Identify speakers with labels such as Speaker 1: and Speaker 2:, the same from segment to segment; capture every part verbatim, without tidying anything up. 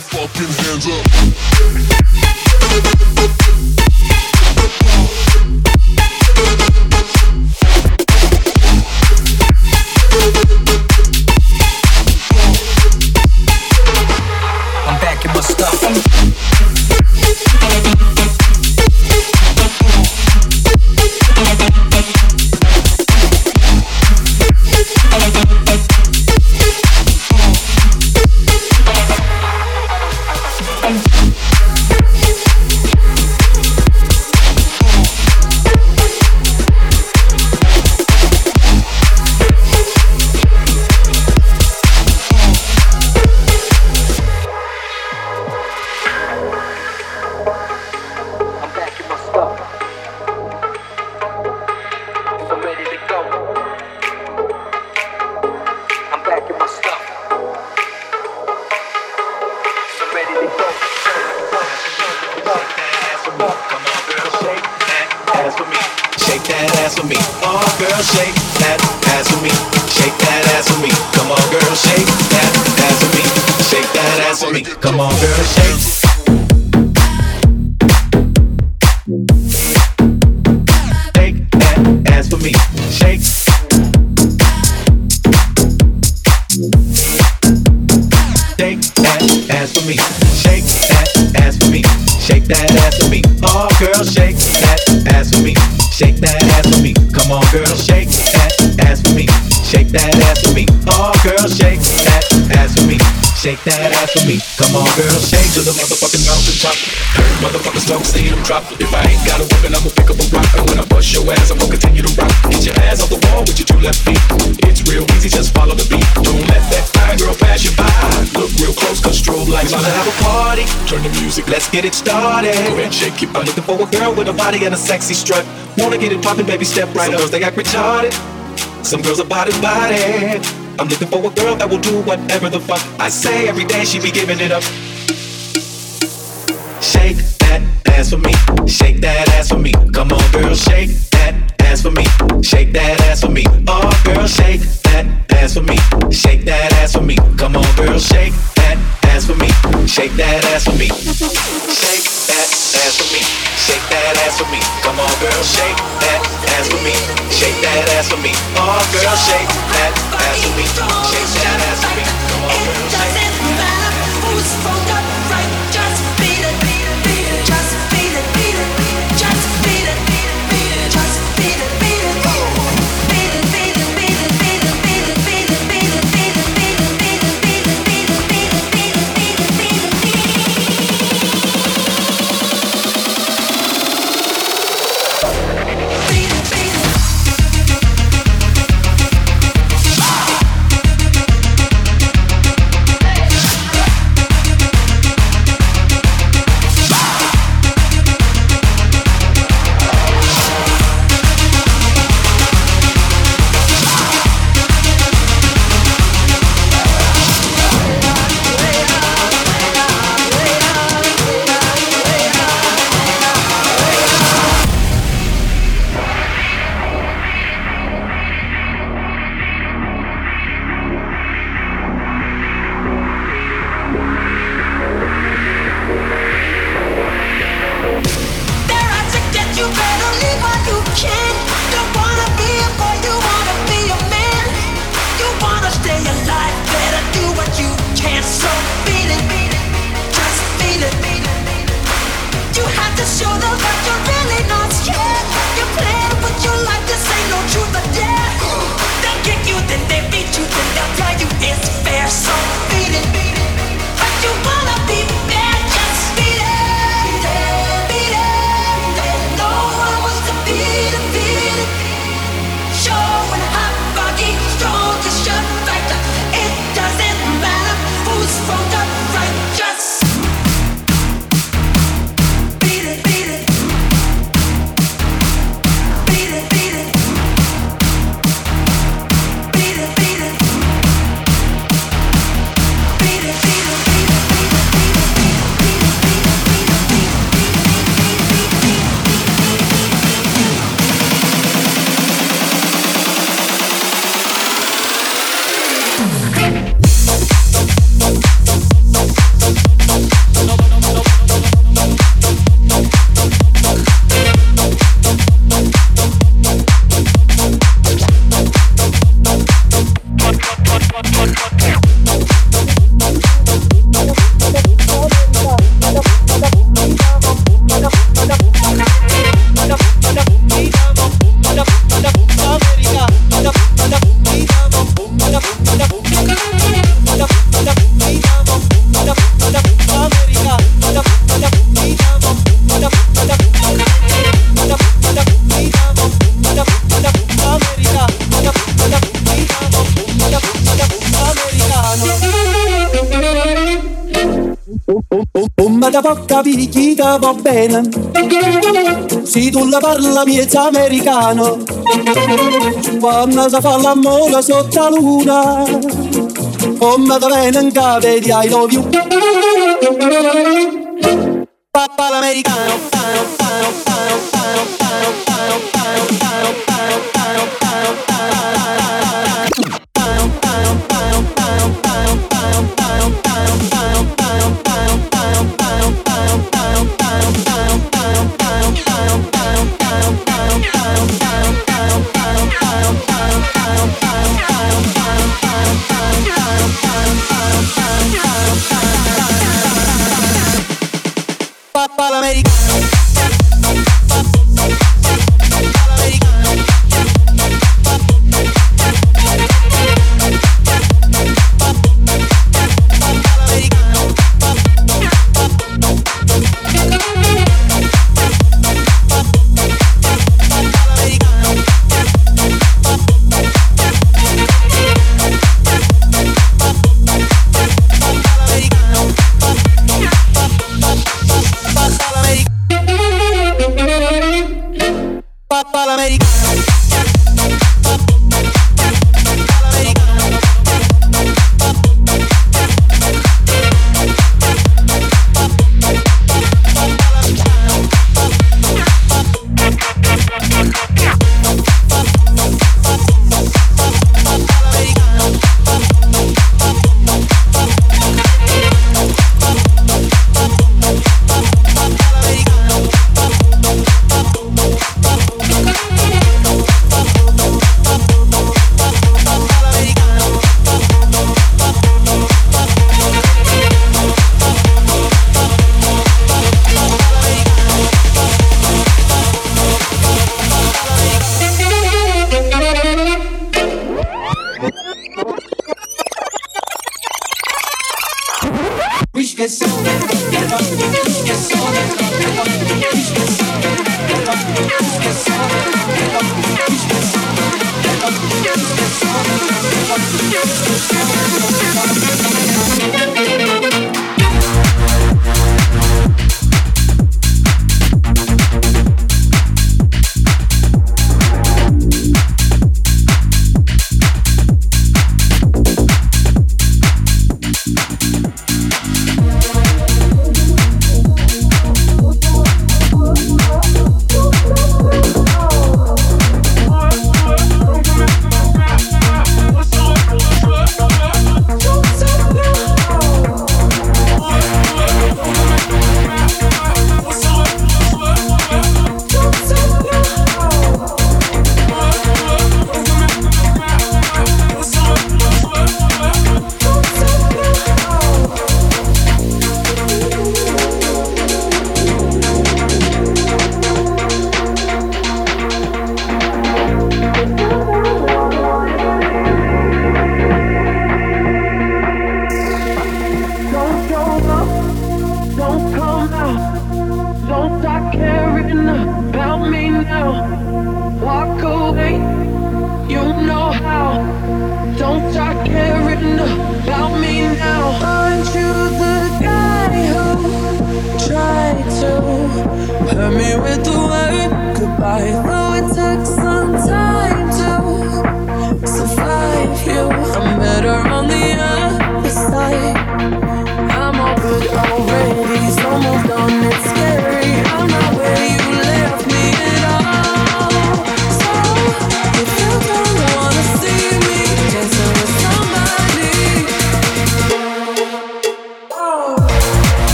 Speaker 1: motherfucking hands up.
Speaker 2: I'm back in my stuff.
Speaker 3: Come on, girl, shake. Shake that ass for me. Shake. Shake that ass for me. Shake that ass for me. Shake that ass for me. Oh, girl, shake that ass for me. Shake that ass for me. Come on, girl, shake that ass for me. Shake that ass for me. Oh, girl, shake that ass for me. Shake that ass for me. Come on, girl, shake
Speaker 4: to the motherfucking mountain top. Heard motherfuckers don't see them drop. If I ain't got a weapon, I'ma pick up a rock. And when I bust your ass, I'm gonna continue to rock. Get your ass off the wall with your two left feet. It's real easy, just follow the beat. Don't let that fine girl pass you by. Look real close, cause strobe lights.
Speaker 3: Wanna have a party?
Speaker 4: Turn the music,
Speaker 3: let's get it started.
Speaker 4: Go ahead, shake your
Speaker 3: I'm
Speaker 4: body.
Speaker 3: looking for a girl with a body and a sexy strut. Wanna get it poppin', baby, step right
Speaker 4: Some
Speaker 3: up.
Speaker 4: girls, they act retarded.
Speaker 3: Some girls are body body. I'm looking for a girl that will do whatever the fuck I say. Every day she be giving it up. Shake that ass for me. Shake that ass for me. Come on, girl, shake that ass for me. Shake that ass for me. Oh, girl, shake that ass for me. Shake that ass for me. Come on, girl, shake that ass for me. Shake that ass for me. Shake that ass for me. Shake that ass for me. Come on, girl, shake that ass for me. Shake that ass for me. Oh, girl, shake that ass for me. Shake that ass for me. Come on, girl, shake.
Speaker 5: It doesn't matter who's wrong or right. Just beat it, beat it, beat it. Just beat it, beat it, beat it. Just beat it, beat it, beat it. Just beat it, beat it. Beat it, beat it, beat it, beat it, beat it, beat it, beat it, beat it, beat it, beat it, beat it, beat it, beat it, beat it, beat it, beat it, beat it.
Speaker 1: Come da può capire chi ti va bene, se tu la parla miezza americano, quando si fa l'amore sotto la luna, come da viene in capo di I love you. Papà l'americano, pano, pano, pano, pano, pano, pano, pano, pano, pano, pano, pano, Papà l'americano.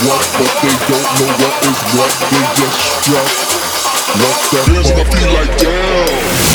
Speaker 6: what, but they don't know what is what. They just strut. What the fuck? Feels like I feel like damn.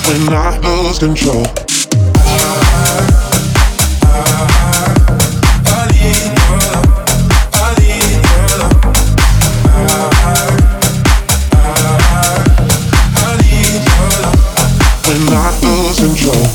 Speaker 6: when I lose control. When I lose control.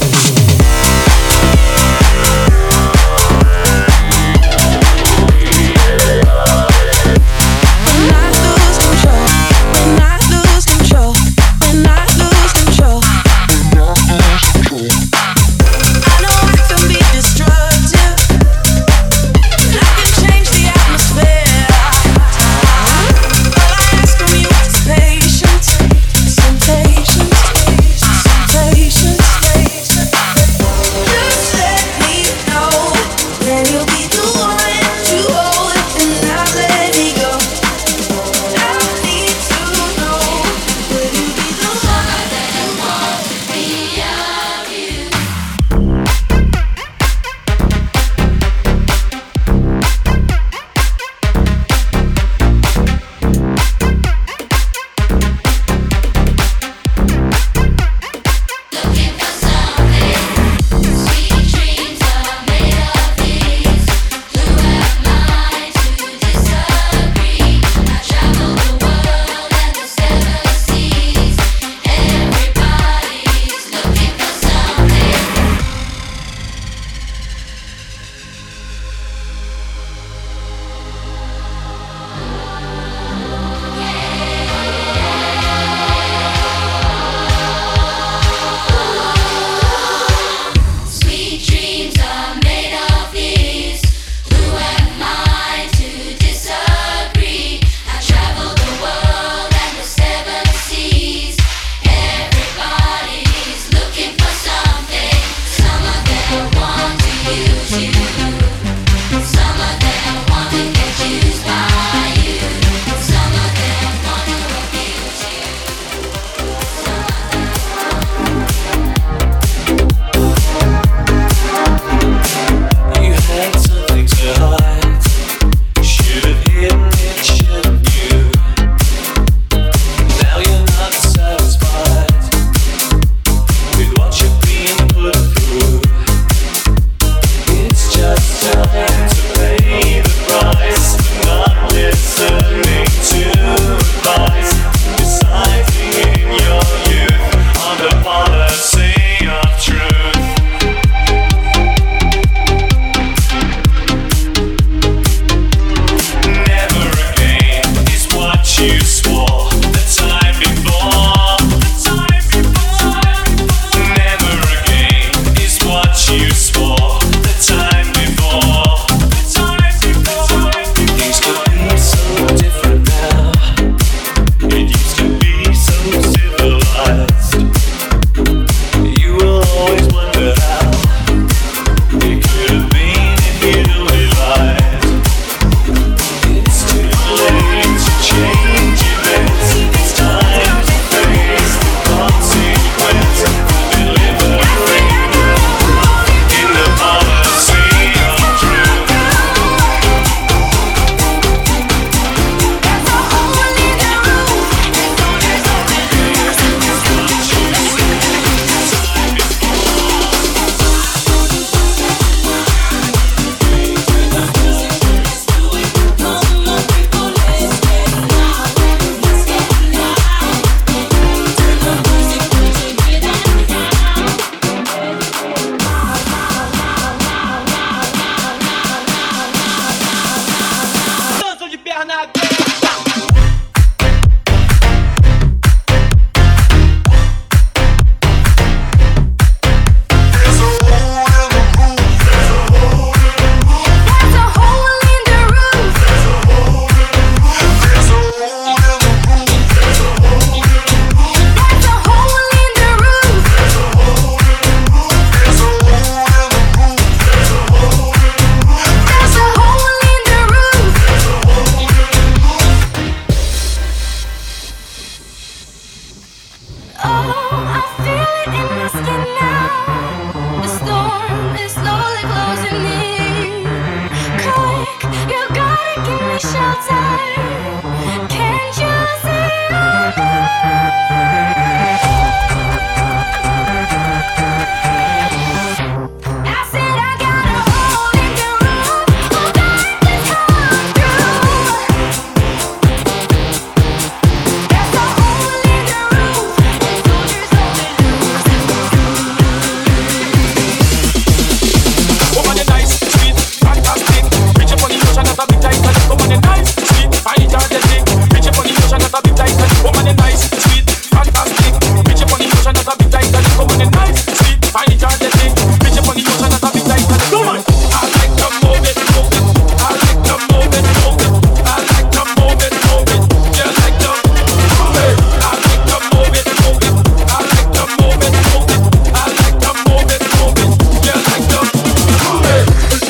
Speaker 7: So when the night sweet, I enjoy the thing. Bitch up on the ocean, that's a big night. Come on. I like to move it, move it. I like to move it, move it. I like to move it, move it. You like to move it. I like to move it, move it. I like to move it, move it. I like to move it, move it. You like to move it.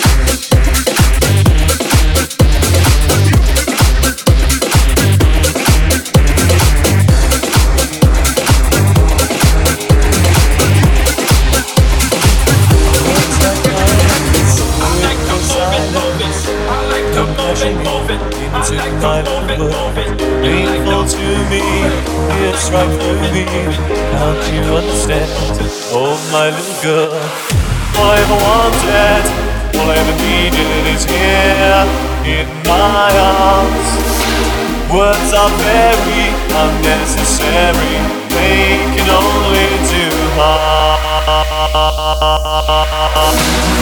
Speaker 8: Into my world, painful to me, it's right through me. Can't you understand? Oh my little girl, all I ever wanted, all I ever needed is here in my arms. Words are very unnecessary, they can only do harm.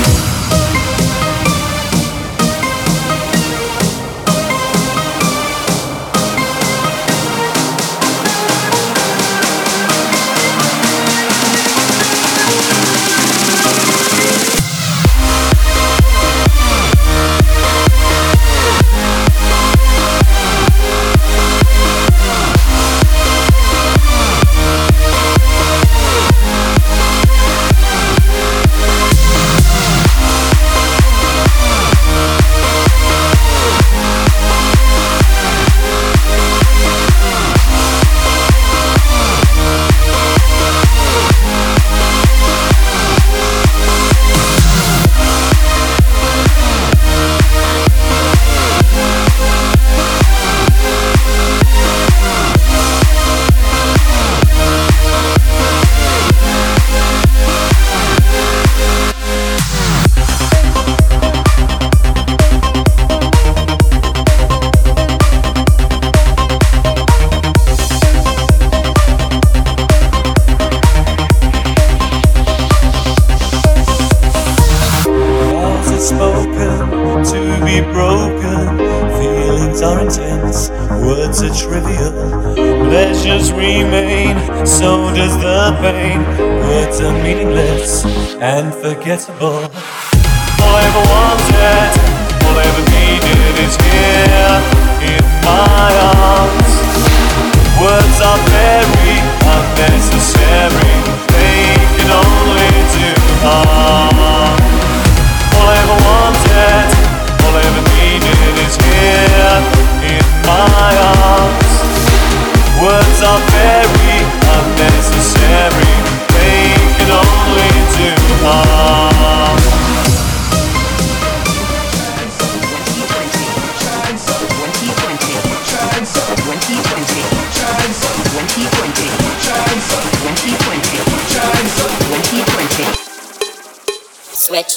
Speaker 8: And forgettable. All I ever wanted, all I ever needed is here in my arms. Words are very unnecessary, they can only do harm. All I ever wanted, all I ever needed is here in my arms. Words are very unnecessary, they can only do harm.
Speaker 5: Switch.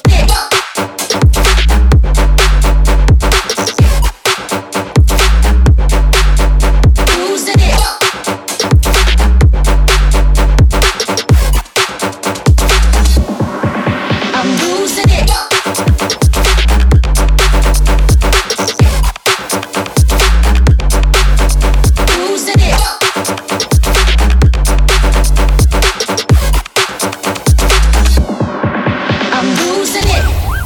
Speaker 5: I'm losing it.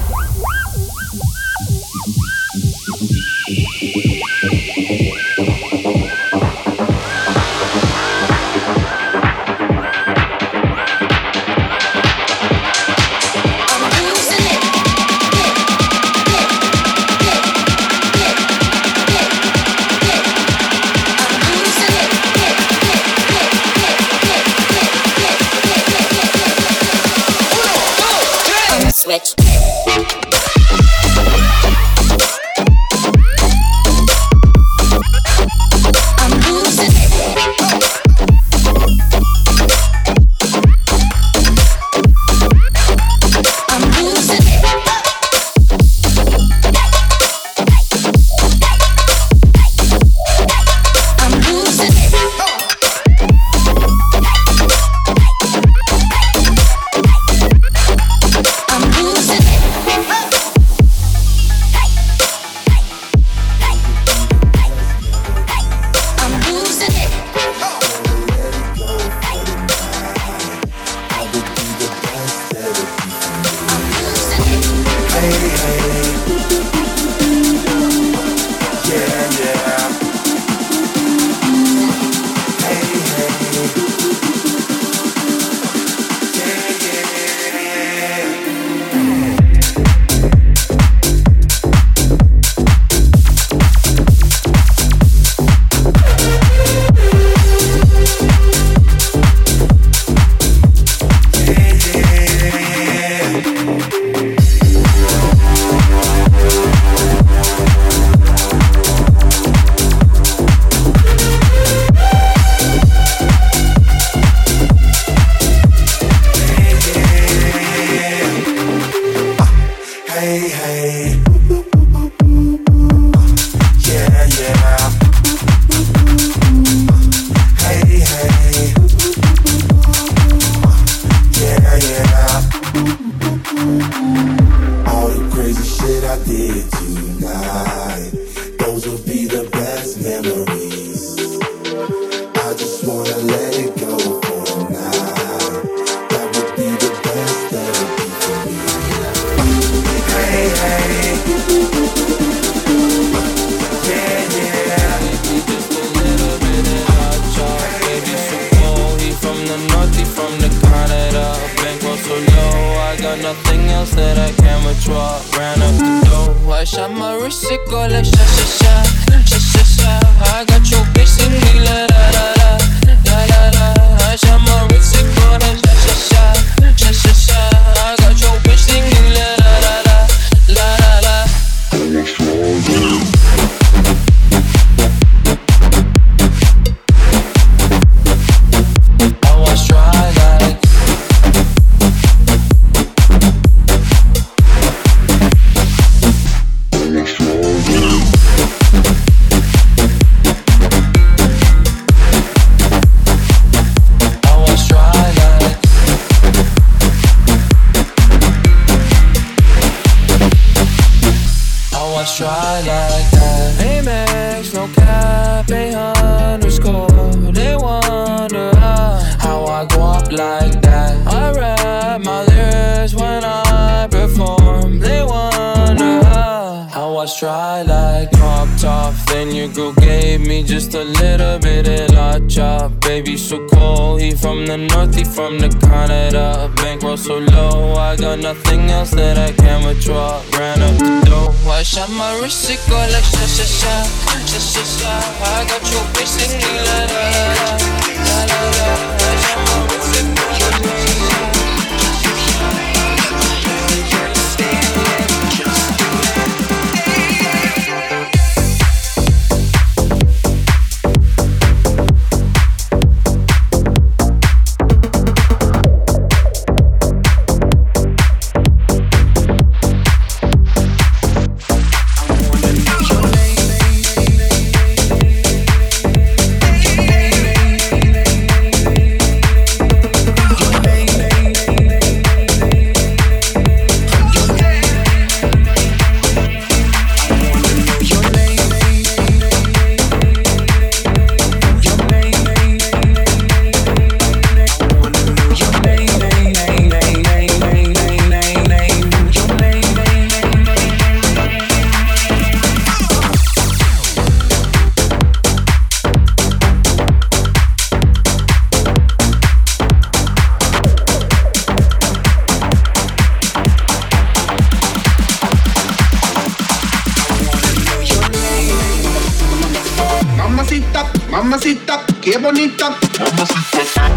Speaker 9: shot my wrist, it go like sha sha sha, sha sha sha. I got your bitch singing la la la la, la la la. I shot my wrist, it go like sha sha sha, sha sha sha. I got your bitch singing la la la la, la la la. I was try like. Try like that. Amex, no cap, a underscore. They wonder how, how I go up like that. I rap my lyrics when I perform. They wonder how, how I try like crop top. Then your girl gave me just a little bit of la chop. Baby so cold, he from the north, he from the Canada. Bankroll so low, I got nothing else that I can withdraw. Ran up the dough, I shot my wrist, it go like sha sha sha, sha sha sha. I got your bitch singing la la la, la la la. I shot my wrist, it go like sha sha sha.
Speaker 10: Mamacita, qué bonita. Mamacita.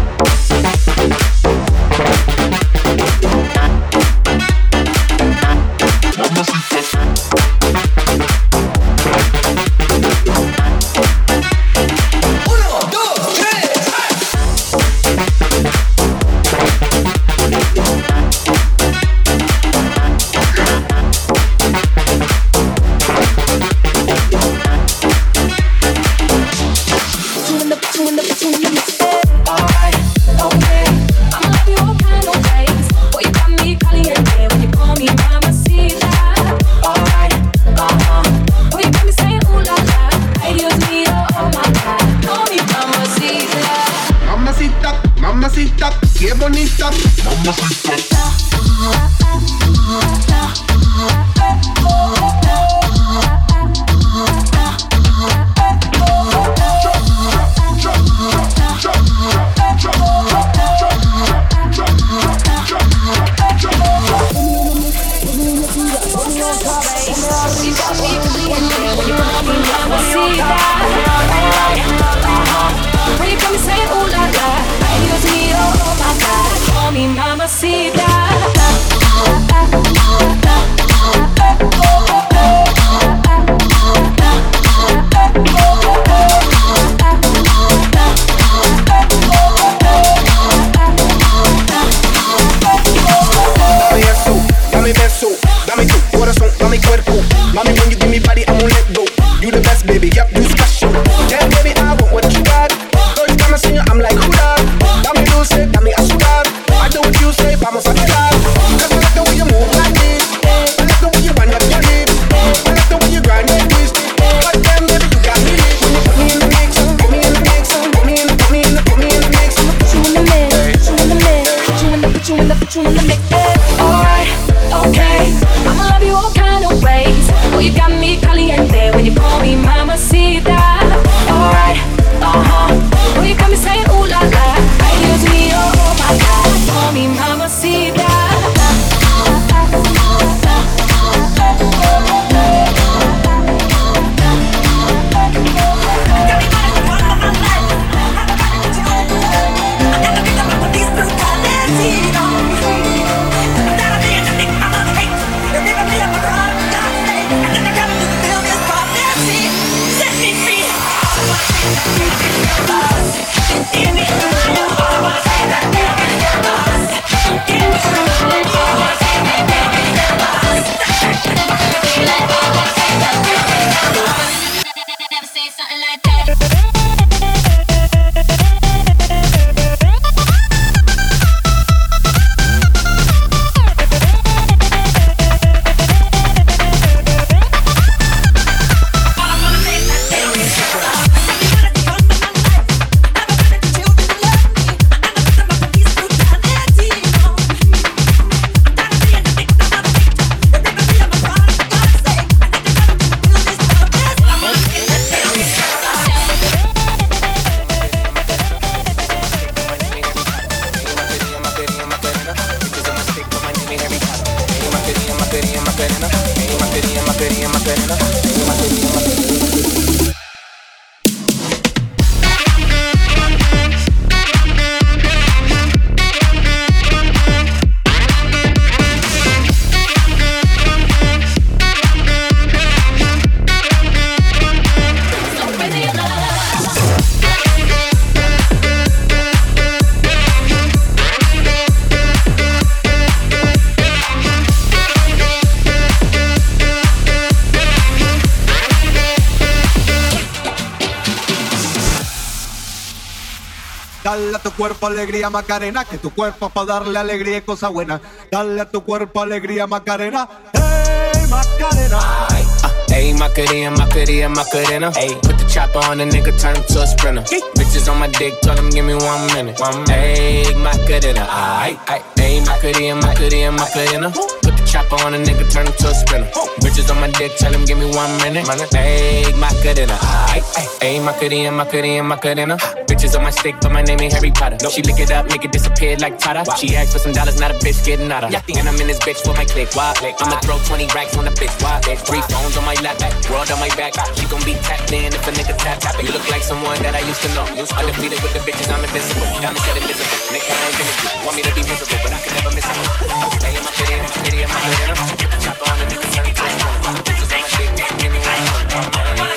Speaker 11: Dale a tu cuerpo alegría Macarena, que tu cuerpo es para darle alegría y cosa buena. Dale a tu cuerpo alegría Macarena, hey Macarena.
Speaker 12: Ay, uh, hey Macarena, Macarena, Macarena. Hey, put the chopper on the nigga, turn him to a sprinter. Hey. Bitches on my dick, tell him give me one minute. One minute. Hey Macarena, ay, ay, hey Macarena, Macarena, Macarena. Put the chopper on a nigga, turn him to a sprinter. Bitches on my dick, tell him give me one minute. Hey Macarena, ay, ay, hey Macarena, Macarena, Macarena. Bitches on my stick, but my name ain't Harry Potter. Nope. She lick it up, make it disappear like Tata. Wow. She asked for some dollars, not a bitch getting out of. And I'm in this bitch for my click. Why? I'ma throw twenty racks on the bitch. Why? Three phones on my lap, world on my back. She gon' be tapped in if a nigga tap tap. You look like someone that I used to know. Undefeated with the bitches, I'm invincible. Diamond said invisible. Nigga, I ain't gonna want me to be miserable, but I can never miss him. Hey, my kitty, my kitty, my kitty. Chop on the nigga, turn it to a sprinter. Bitches on my dick, give me one minute.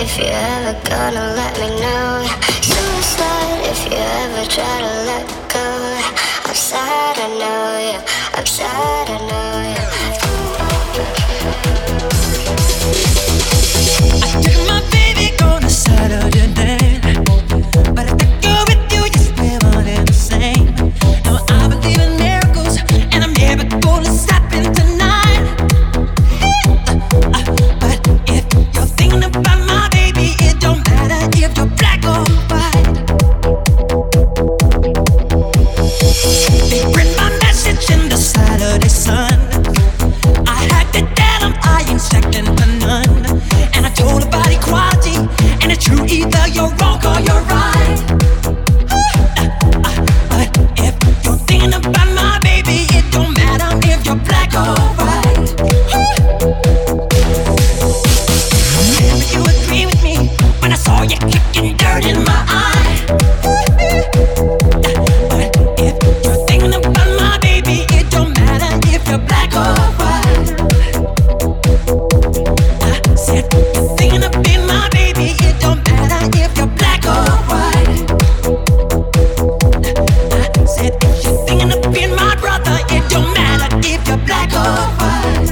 Speaker 13: if you ever gonna let me know. Suicide if you ever try to let go. I'm sad, I know, yeah. I'm sad, I know, yeah.
Speaker 5: I took my baby on a Saturday night, but I think you're with you, just we're one and the same. Now I believe in miracles, and I'm never gonna stop in tonight. But if you're thinking about my baby, it don't matter if you're black or white. They read my message in the Saturday sun. I had to tell them I ain't second to none. And I told about equality, and it's true, either you're wrong or you're right. But if you're thinking about my baby, it don't matter if you're black or white. Maybe you agree with me when I saw you kicking dirt in my eye. But if you're thinking about my baby, it don't matter if you're black or white. I said you're thinking of being my baby, it don't matter if you're black or white. I said if you're thinking of being my brother, it don't matter if you're black or white.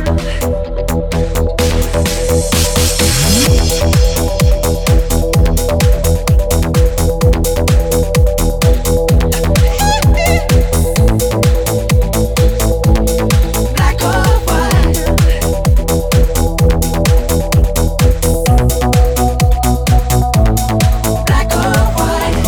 Speaker 5: Black or white. Black or white.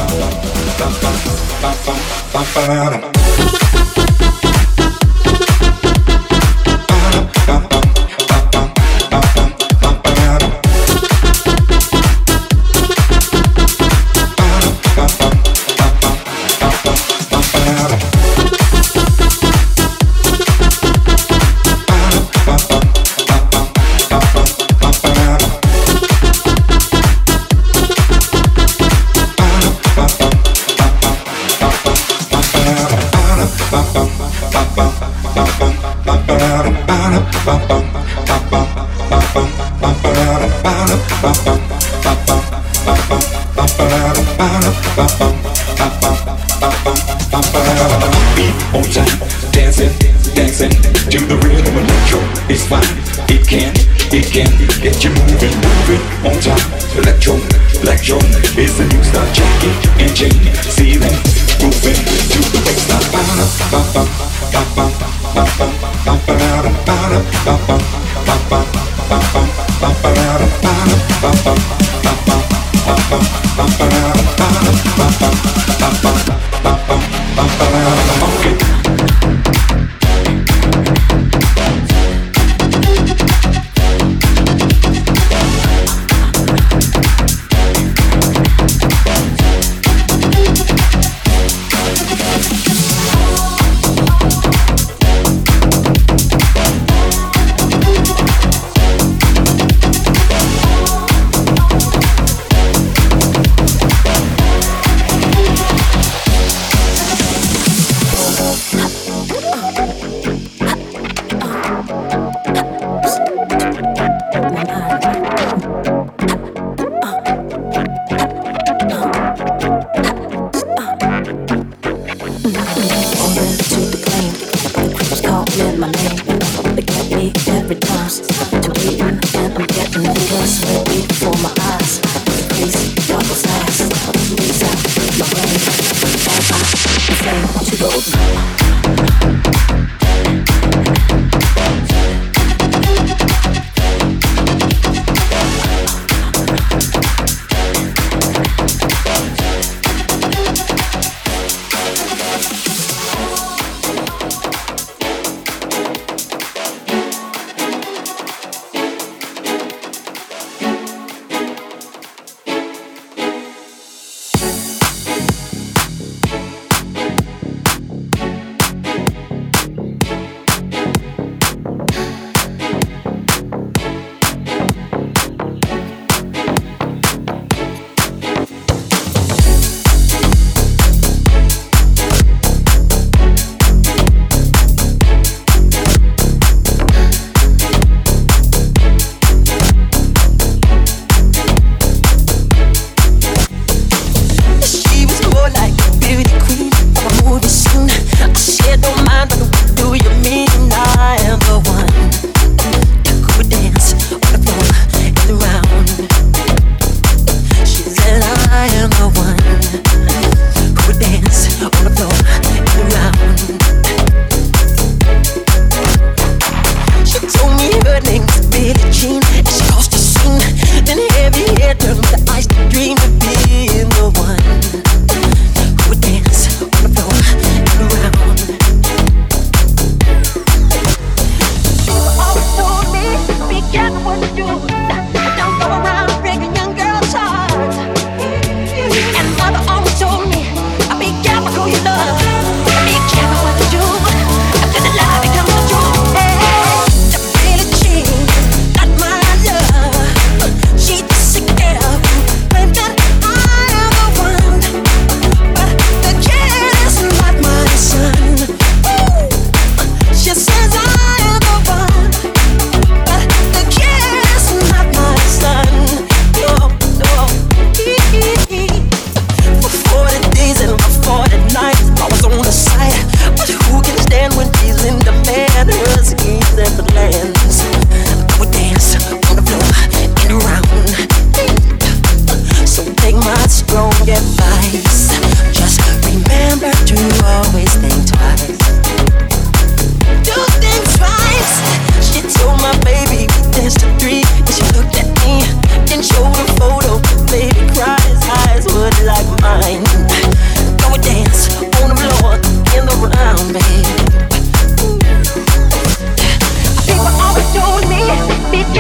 Speaker 4: Beat on time, dancing, dancing to the rhythm of electro. It's fine, it can, it can get you moving, moving on time. Electro, electro is the new style. Jackie and Janie, see them moving to the baseline.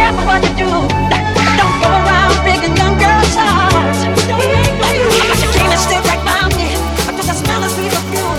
Speaker 5: careful what you do. Don't go around breaking young girls' hearts. She came and stood right by me. I took a smell of sweet perfume.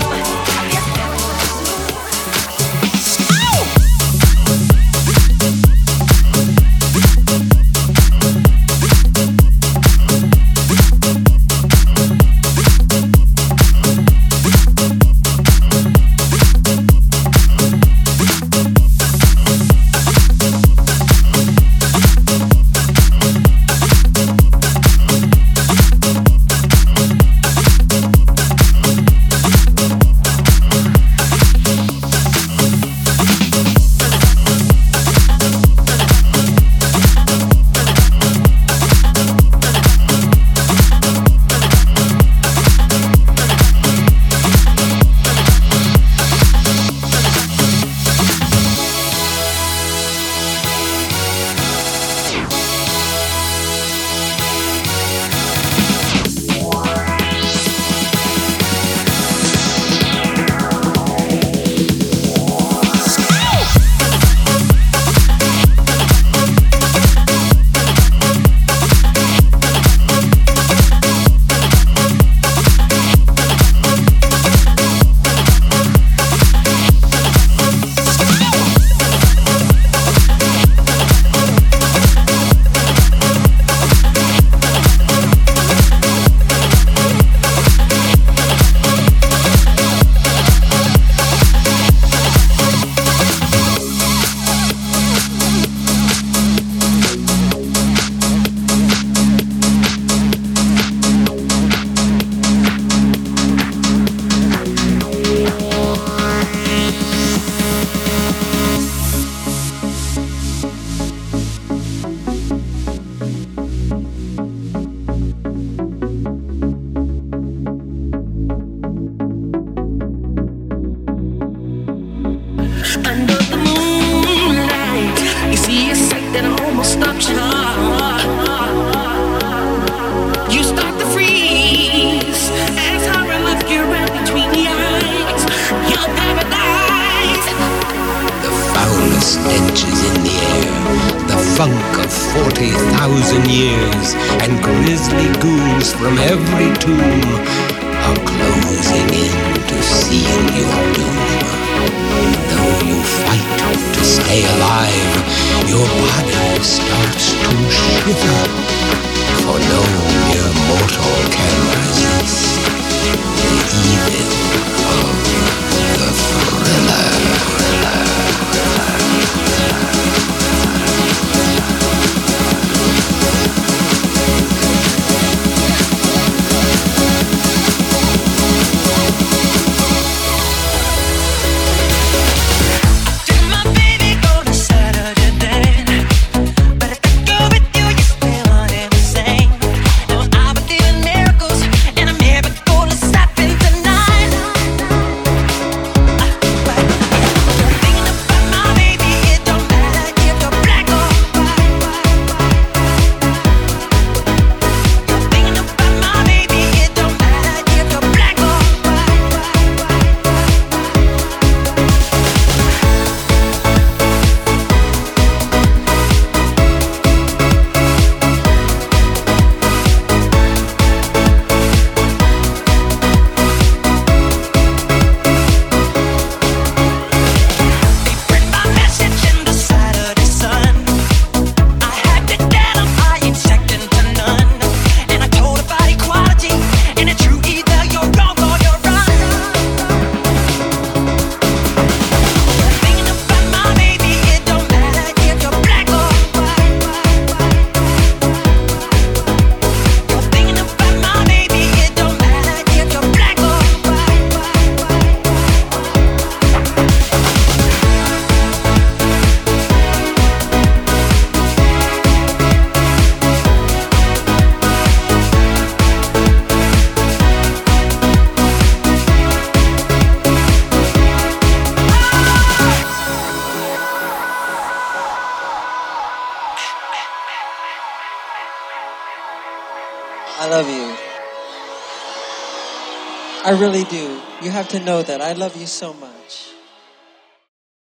Speaker 14: I love you. I really do. You have to know that. I love you so much.